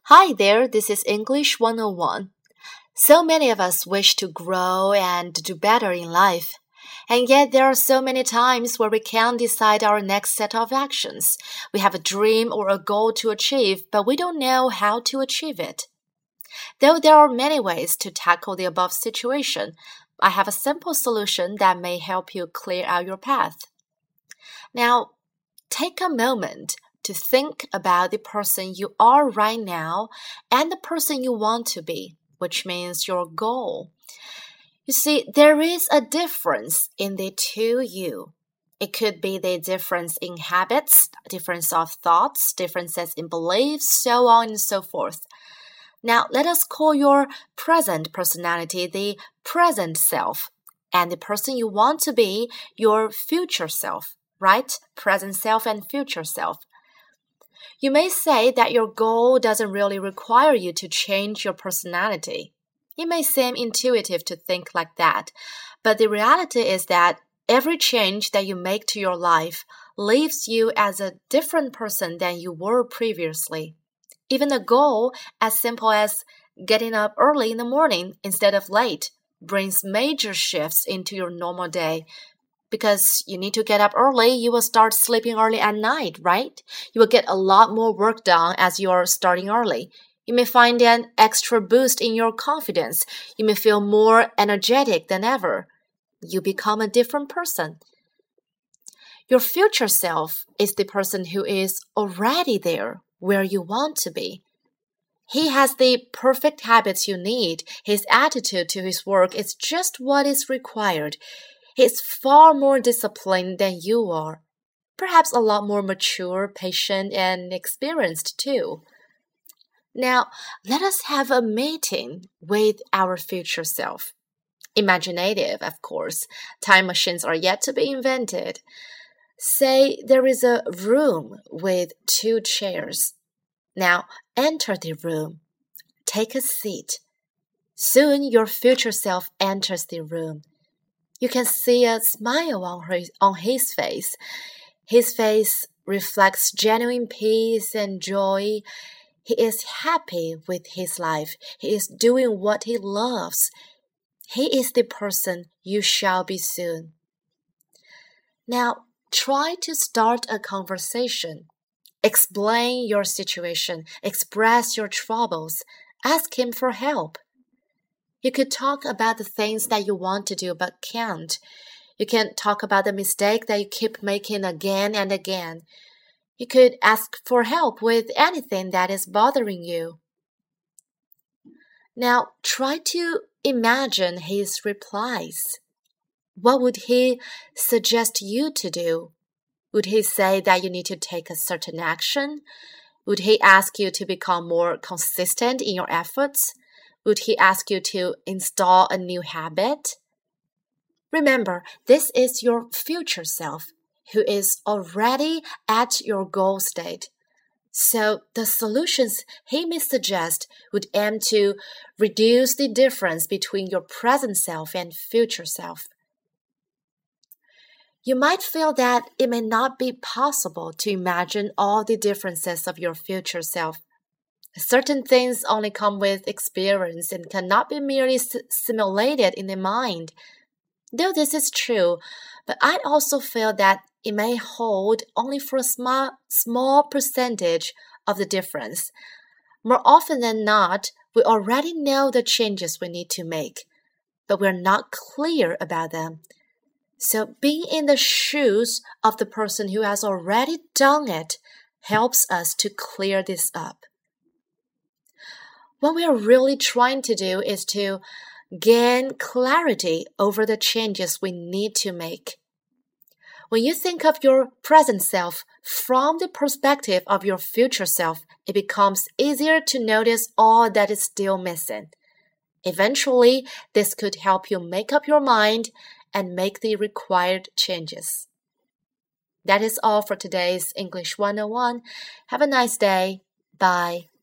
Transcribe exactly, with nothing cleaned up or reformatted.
Hi there, this is English one oh one. So many of us wish to grow and do better in life. And yet there are so many times where we can't decide our next set of actions. We have a dream or a goal to achieve, but we don't know how to achieve it. Though there are many ways to tackle the above situation, I have a simple solution that may help you clear out your path. Now, take a moment to think about the person you are right now and the person you want to be, which means your goal. You see, there is a difference in the two you. It could be the difference in habits, difference of thoughts, differences in beliefs, so on and so forth. Now, let us call your present personality the present self, and the person you want to be your future self, right? Present self and future self. You may say that your goal doesn't really require you to change your personality. It may seem intuitive to think like that, but the reality is that every change that you make to your life leaves you as a different person than you were previously. Even a goal as simple as getting up early in the morning instead of late brings major shifts into your normal day. Because you need to get up early, you will start sleeping early at night, right? You will get a lot more work done as you are starting early. You may find an extra boost in your confidence. You may feel more energetic than ever. You become a different person. Your future self is the person who is already there where you want to be. He has the perfect habits you need. His attitude to his work is just what is required. He's far more disciplined than you are, perhaps a lot more mature, patient, and experienced too. Now, let us have a meeting with our future self. Imaginative, of course. Time machines are yet to be invented. Say there is a room with two chairs. Now, enter the room. Take a seat. Soon, your future self enters the room. You can see a smile on his, on his face. His face reflects genuine peace and joy. He is happy with his life. He is doing what he loves. He is the person you shall be soon. Now, try to start a conversation. Explain your situation. Express your troubles. Ask him for help. You could talk about the things that you want to do but can't. You can talk about the mistake that you keep making again and again. You could ask for help with anything that is bothering you. Now, try to imagine his replies. What would he suggest you to do? Would he say that you need to take a certain action? Would he ask you to become more consistent in your efforts? Would he ask you to install a new habit? Remember, this is your future self who is already at your goal state. So the solutions he may suggest would aim to reduce the difference between your present self and future self. You might feel that it may not be possible to imagine all the differences of your future self. Certain things only come with experience and cannot be merely simulated in the mind. Though this is true, but I also feel that it may hold only for a small, small percentage of the difference. More often than not, we already know the changes we need to make, but we're not clear about them. So being in the shoes of the person who has already done it helps us to clear this up. What we are really trying to do is to gain clarity over the changes we need to make. When you think of your present self from the perspective of your future self, it becomes easier to notice all that is still missing. Eventually, this could help you make up your mind and make the required changes. That is all for today's English one oh one. Have a nice day. Bye.